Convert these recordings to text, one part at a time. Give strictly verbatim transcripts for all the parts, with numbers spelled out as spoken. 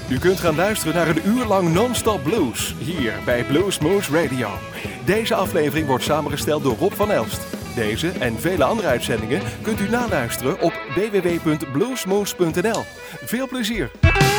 U kunt gaan luisteren naar een uur lang non-stop blues, hier bij Bluesmoose Radio. Deze aflevering wordt samengesteld door Rob van Elst. Deze en vele andere uitzendingen kunt u naluisteren op w w w punt bluesmoose punt n l. Veel plezier!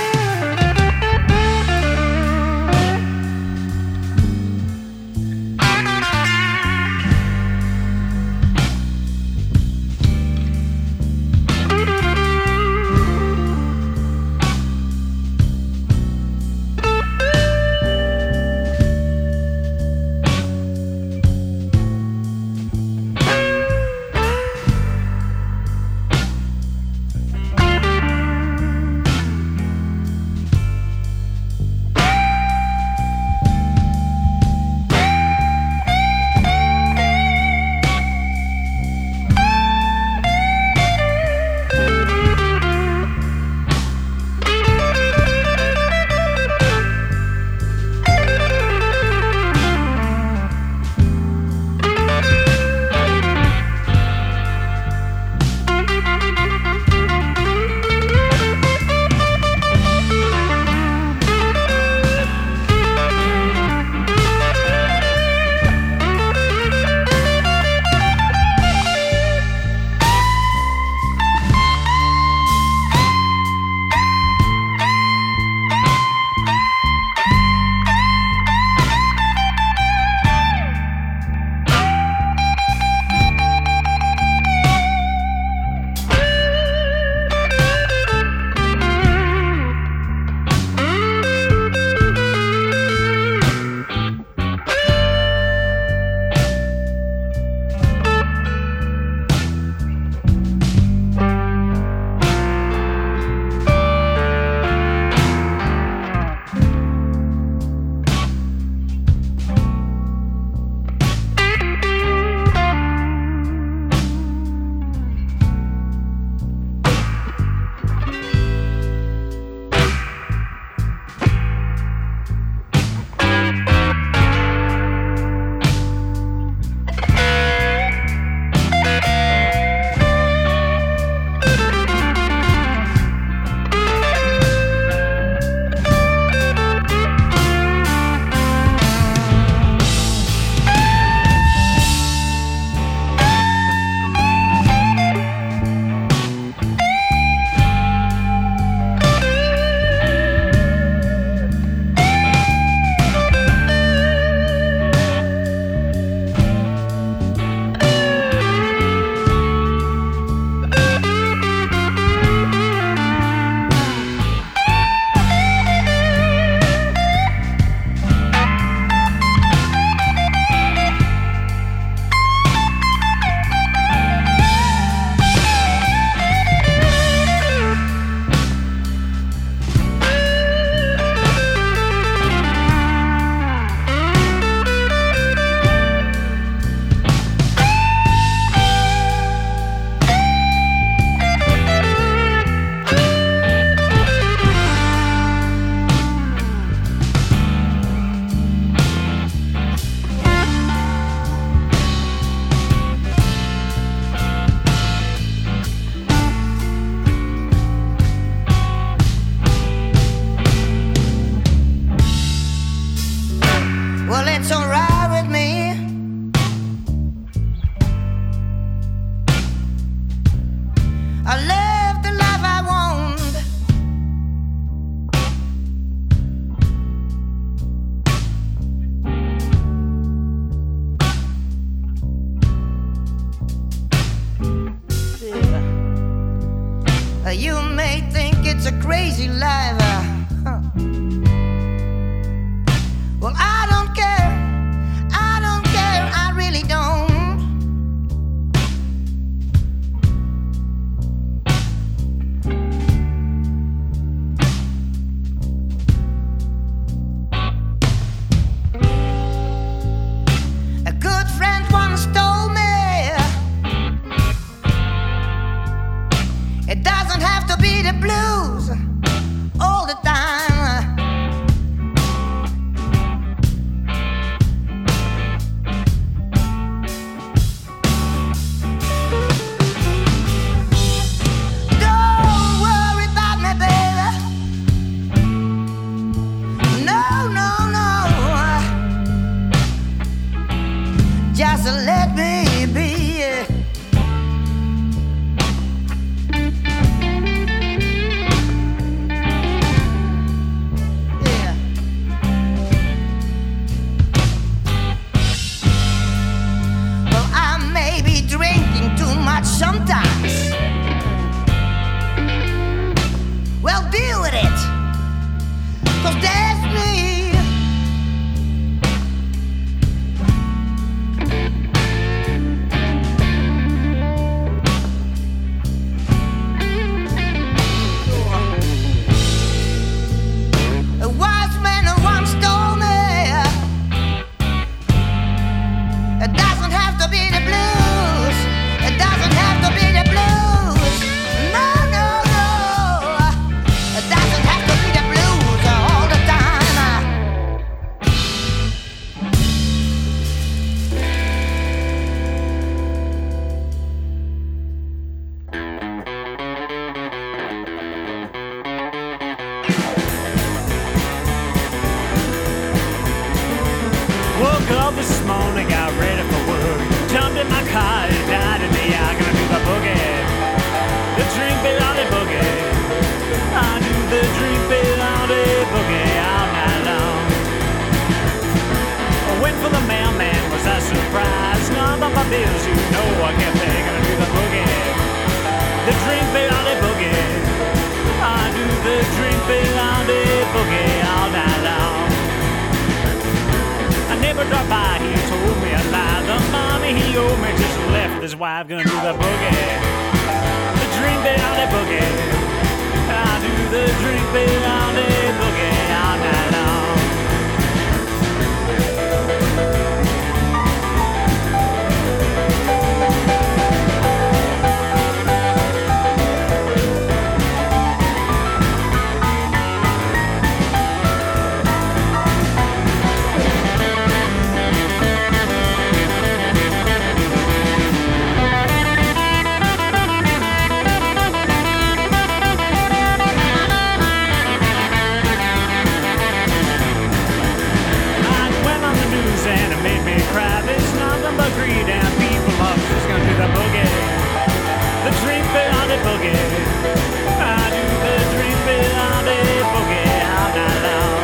You may think it's a crazy life, uh, huh. Well, I don't care, I don't care, I really don't. A good friend once told me it doesn't have to be the blues all the time. Don't worry about me, baby. bills, you know I kept they gonna do the boogie. The drink beyond the boogie. I do the drink beyond the boogie all night long. I never dropped by, he told me a lie. The money he owed me just left his wife, gonna do the boogie. The drink beyond the boogie. I do the drink beyond the boogie all night long. Greed and people love is gonna do the boogie. The drink beyond the boogie. I do the drink beyond the boogie all night long.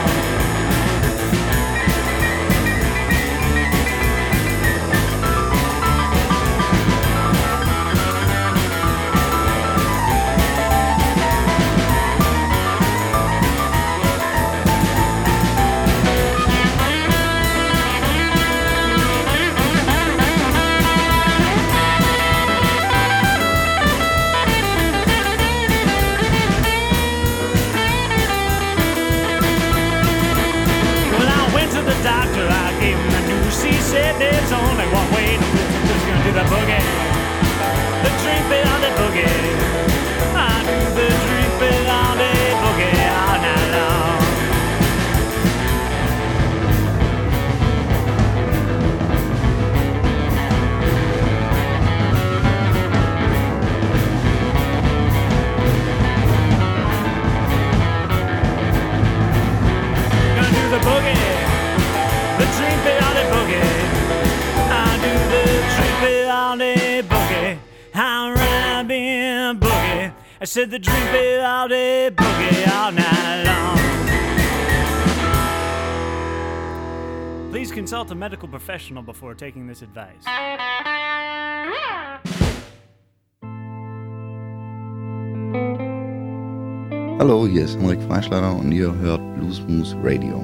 Doctor, I gave him the news. He said there's only one way to live. Who's gonna do the boogie? The drink beyond the boogie. I do the drink beyond the boogie all night long. Gonna do the boogie. The drink beyond the boogie. I do the drink beyond the boogie. I'm rapping boogie. I said the drink beyond the boogie all night long. Please consult a medical professional before taking this advice. Hallo, hier ist Henrik Freischlader und ihr hört Blues Moose Radio.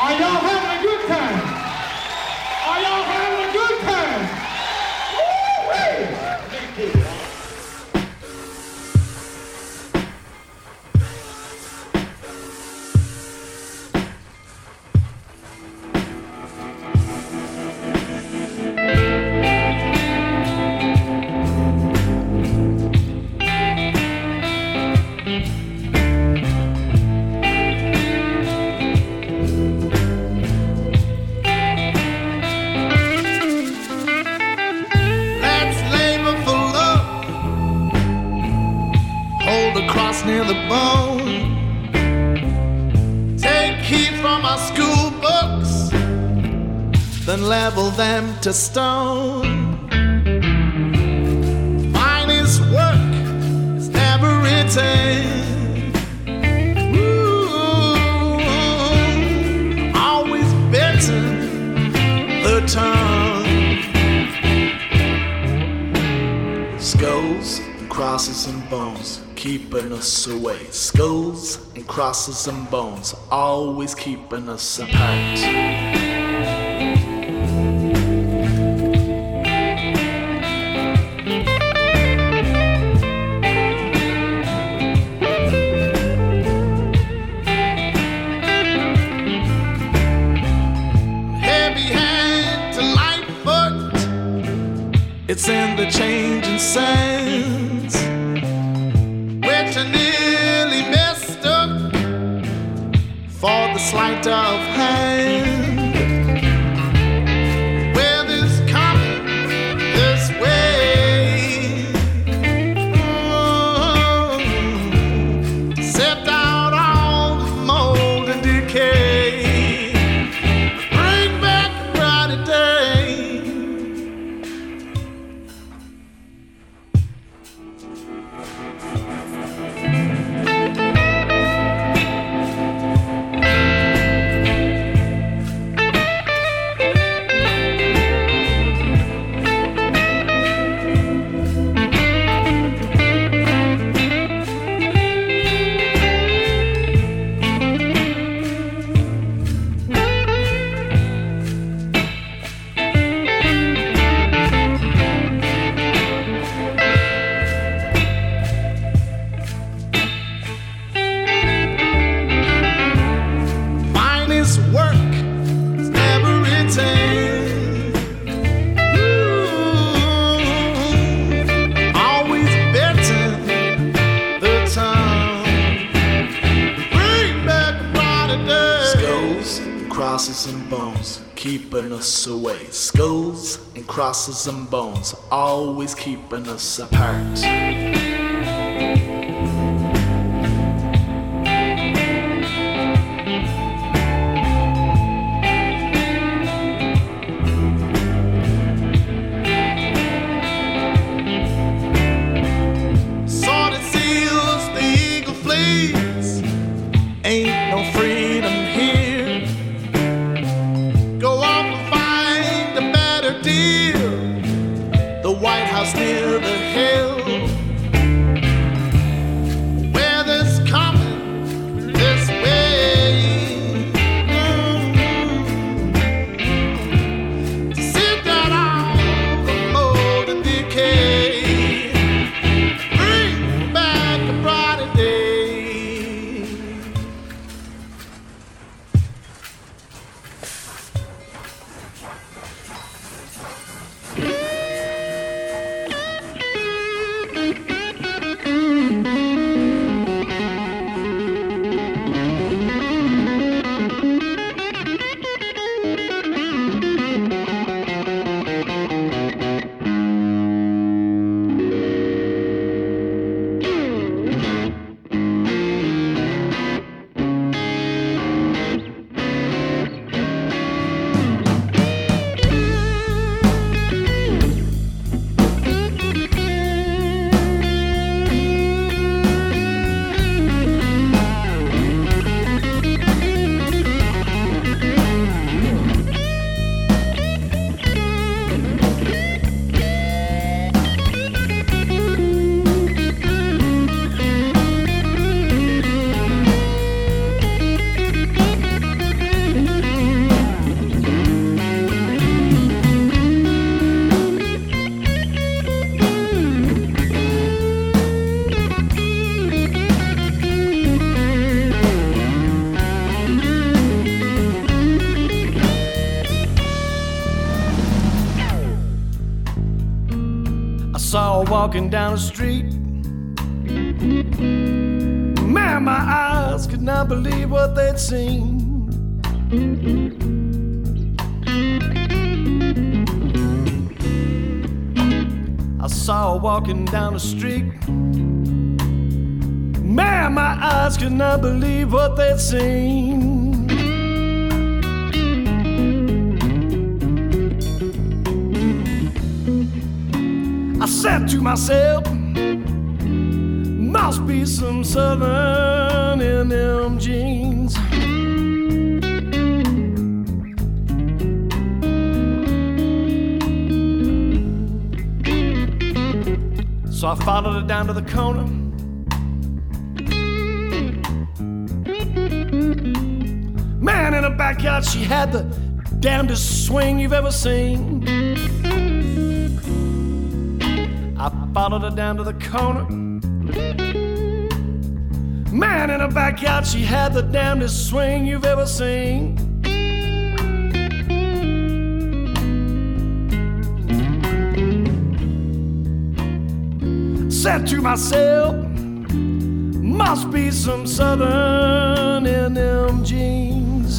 Are y'all having a good time? Are y'all having a good time? Woo-wee! Near the bone, take heed from our school books, then level them to stone. Finest work is never written. Ooh, always bitten the tongue. Skulls, crosses, and bones keeping us away. Skulls and crosses and bones, always keeping us apart. Heavy hand to light foot, it's in the changing sands. I nearly mistook for the sleight of hand. Weather's coming this way. Oh, sift out all the mold and decay. Bring back a brighter day. Crosses and bones, keeping us away. Skulls and crosses and bones, always keeping us apart. Sword seals, the eagle flees. Ain't no freedom here. The White House near the hill. saw her walking down the street. Man, my eyes could not believe what they'd seen. I saw her walking down the street. Man, my eyes could not believe what they'd seen. I said to myself, must be some southern in them jeans. So I followed her down to the corner. Man, in her backyard she had the damnedest swing you've ever seen. I followed her down to the corner. Man, in her backyard she had the damnedest swing you've ever seen. Said to myself, must be some southern in them jeans.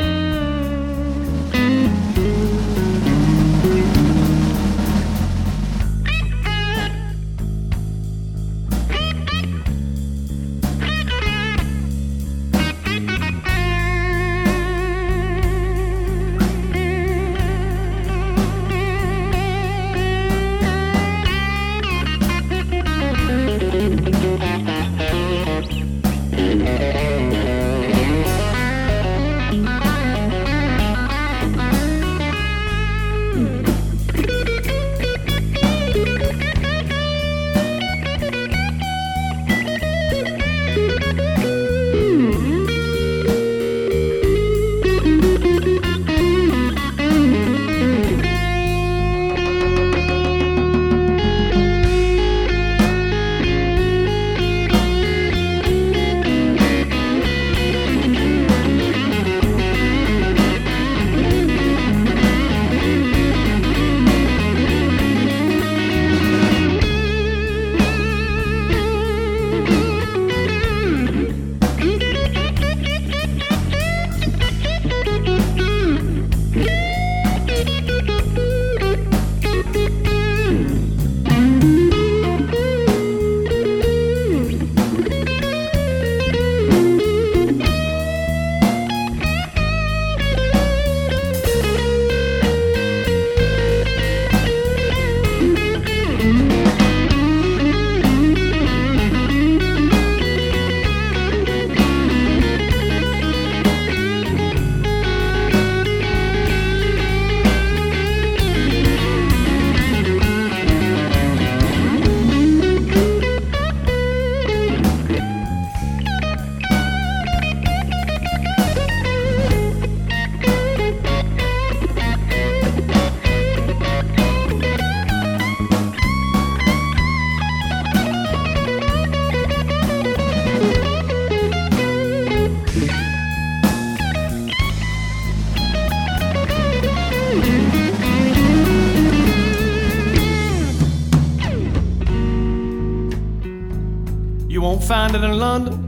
Find it in London.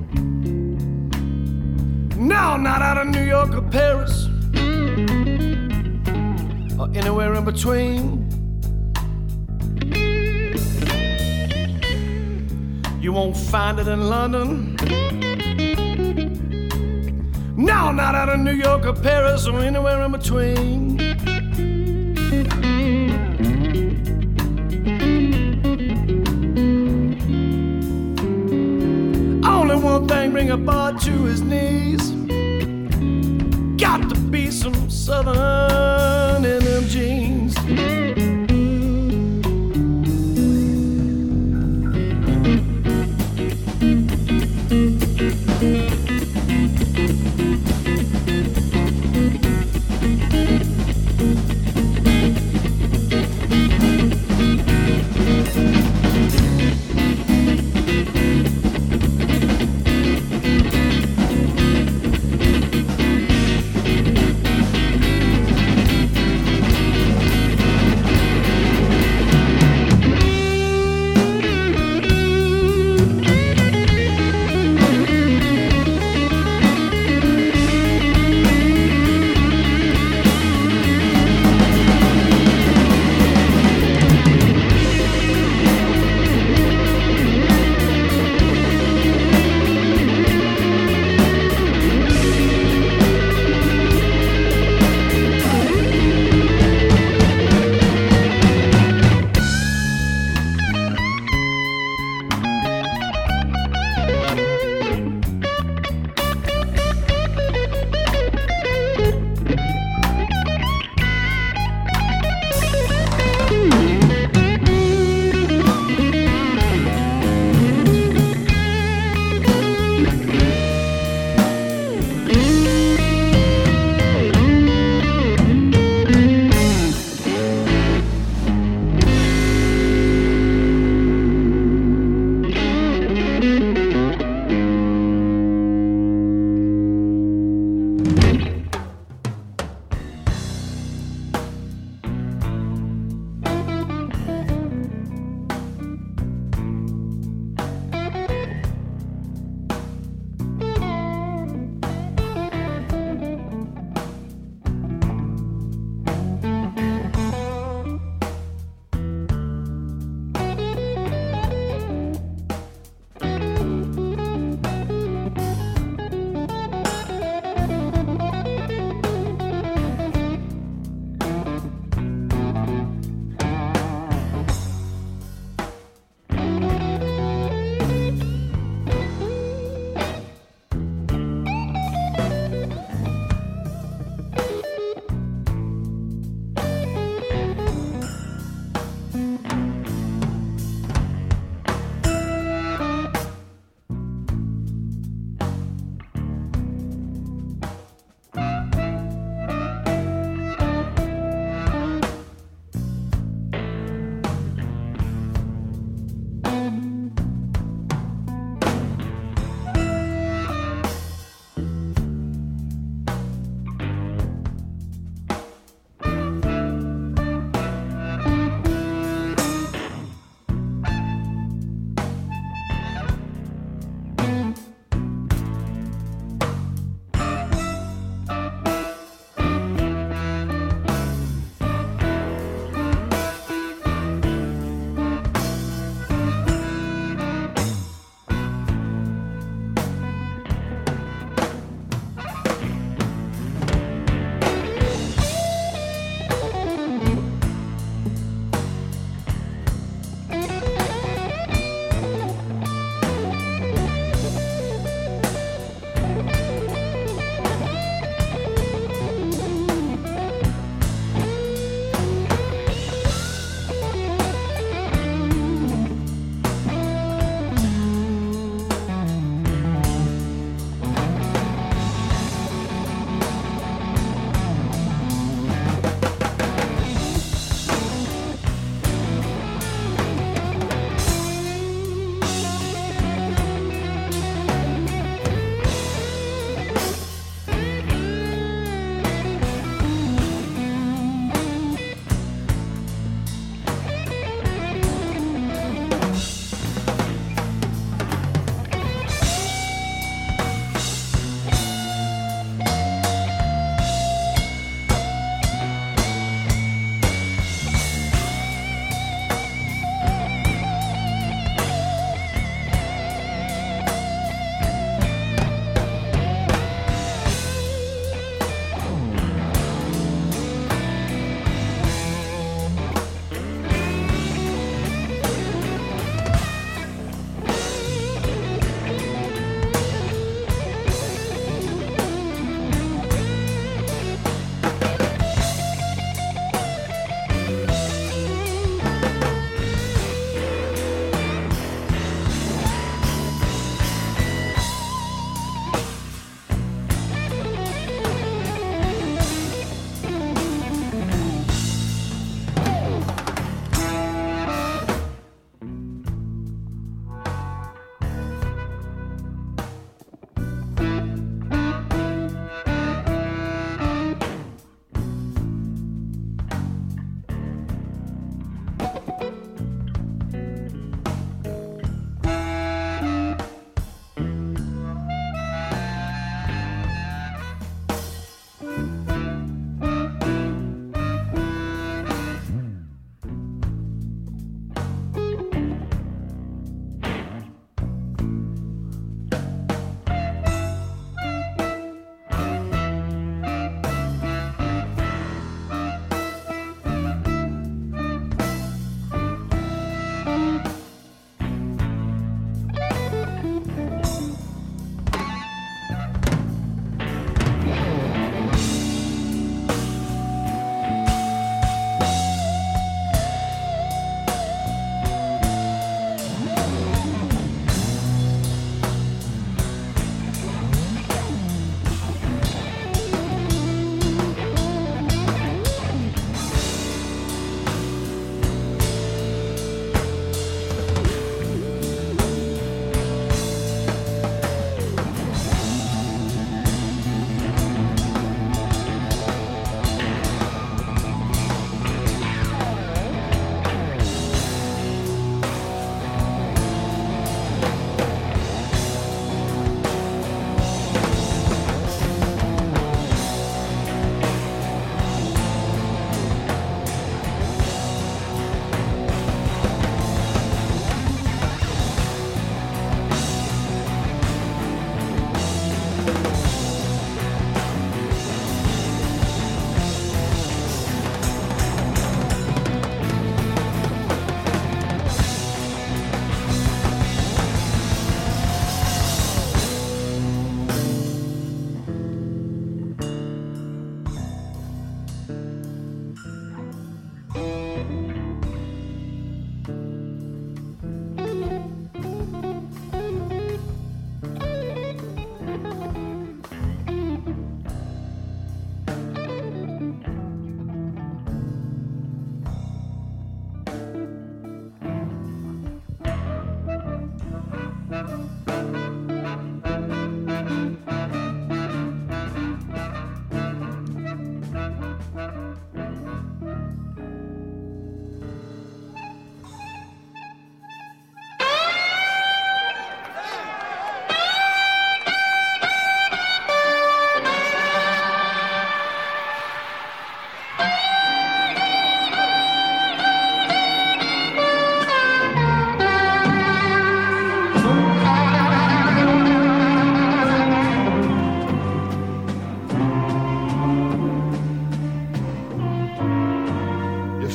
No, not out of New York or Paris, or anywhere in between. You won't find it in London. No, not out of New York or Paris, or anywhere in between. One thing bring a bar to his knees. Got to be some southern in them jeans.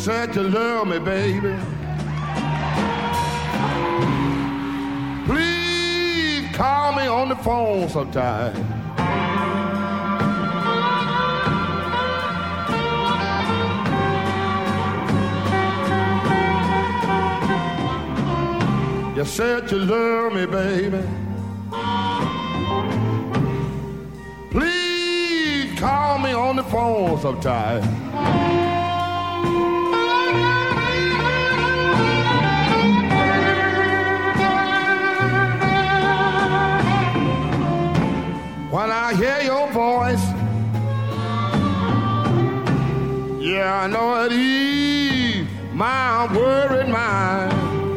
said you love me, baby. Please call me on the phone sometime. You said you love me, baby. Please call me on the phone sometime. When I hear your voice, yeah, I know it ease my worried mind.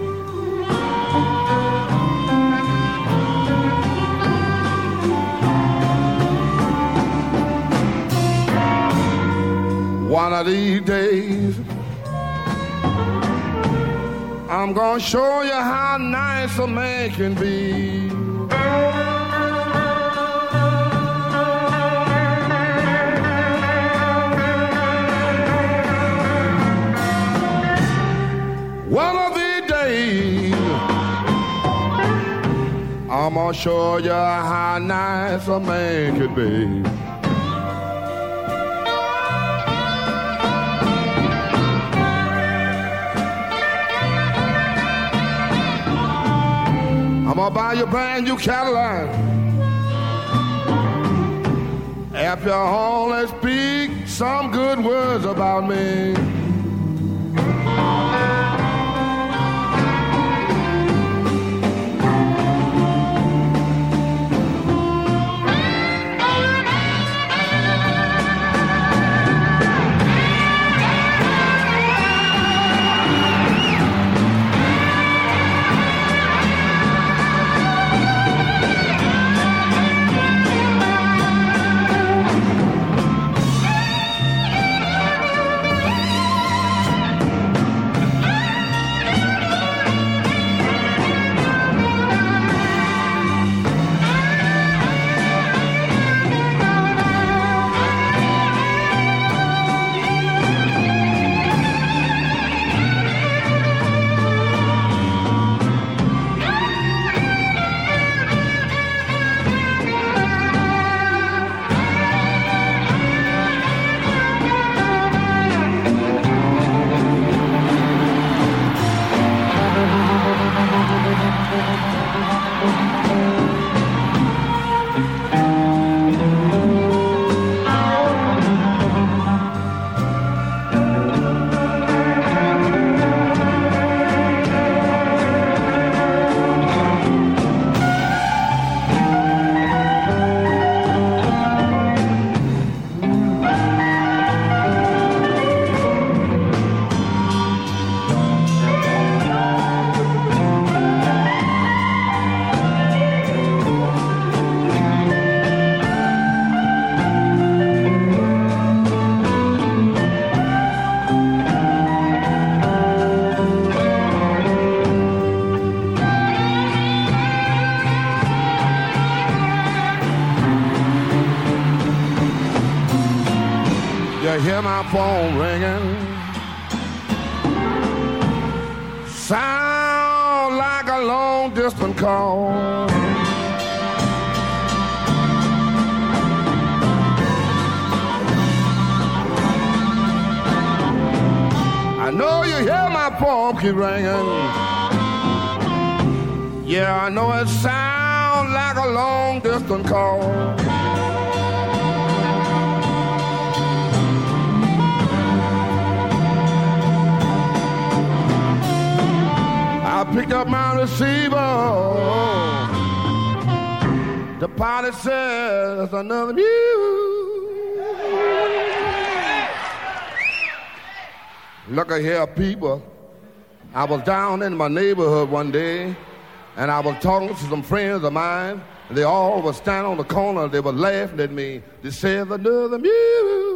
One of these days, I'm gonna show you how nice a man can be. One of these days, I'm gonna show you how nice a man can be. I'm gonna buy you a brand new Cadillac. If you only speak some good words about me. I hear my phone ringing. Sound like a long distance call. I know you hear my phone keep ringing. Yeah, I know it sounds like a long distance call. I picked up my receiver. The pilot says another news. Look at here, people. I was down in my neighborhood one day, and I was talking to some friends of mine. They all were standing on the corner. They were laughing at me. They said another news.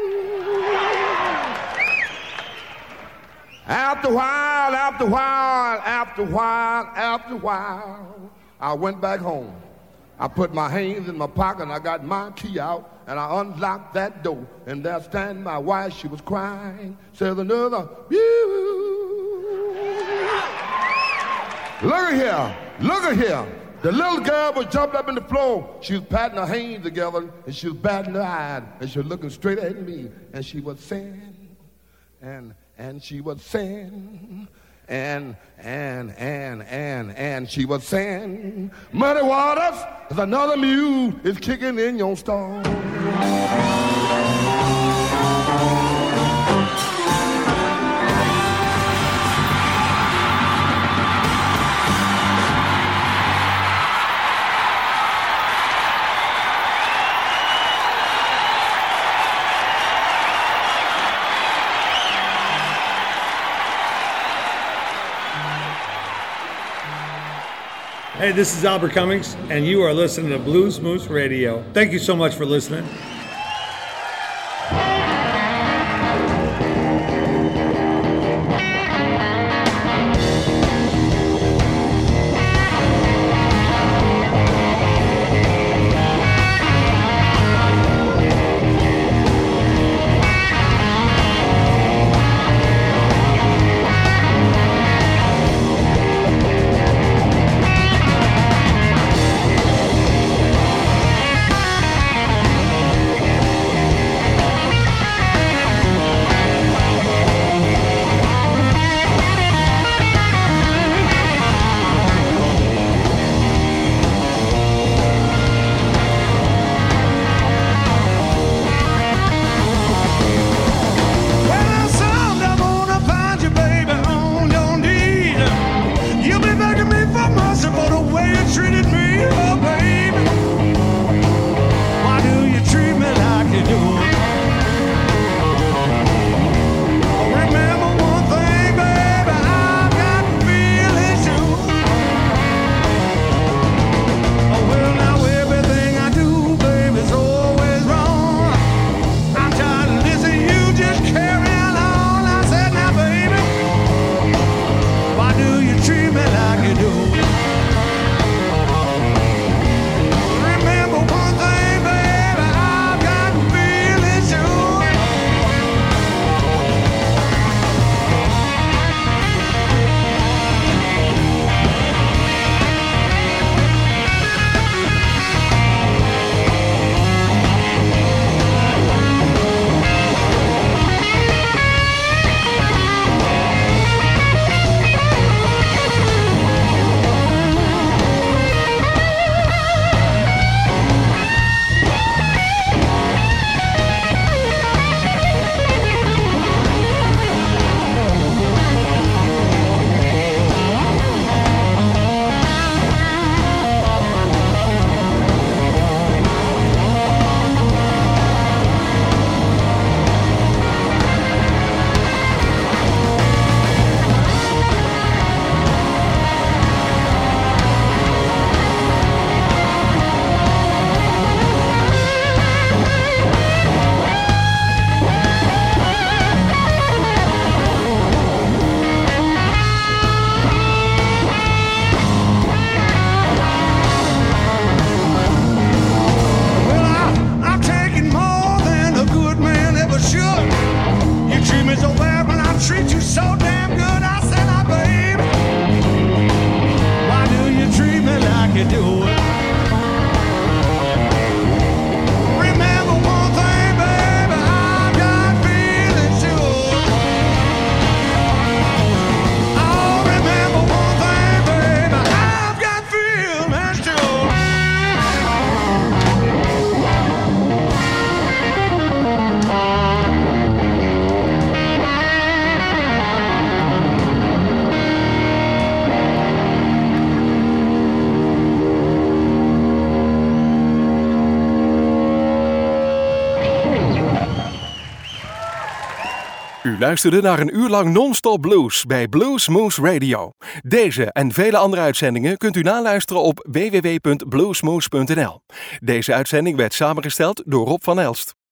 After a while, after a while, after a while, after a while, I went back home. I put my hands in my pocket and I got my key out and I unlocked that door. And there stand my wife, she was crying. Says another, look at here, look at here. The little girl was jumped up in the floor. She was patting her hands together and she was batting her eyes and she was looking straight at me and she was saying, and and she was saying, and and and and and she was saying, Muddy Waters, there's another mule is kicking in your stall. Hey, this is Albert Cummings, and you are listening to Blues Moose Radio. Thank you so much for listening. U luisterde naar een uur lang non-stop blues bij Blues Moose Radio. Deze en vele andere uitzendingen kunt u naluisteren op w w w punt bluesmoose punt n l. Deze uitzending werd samengesteld door Rob van Elst.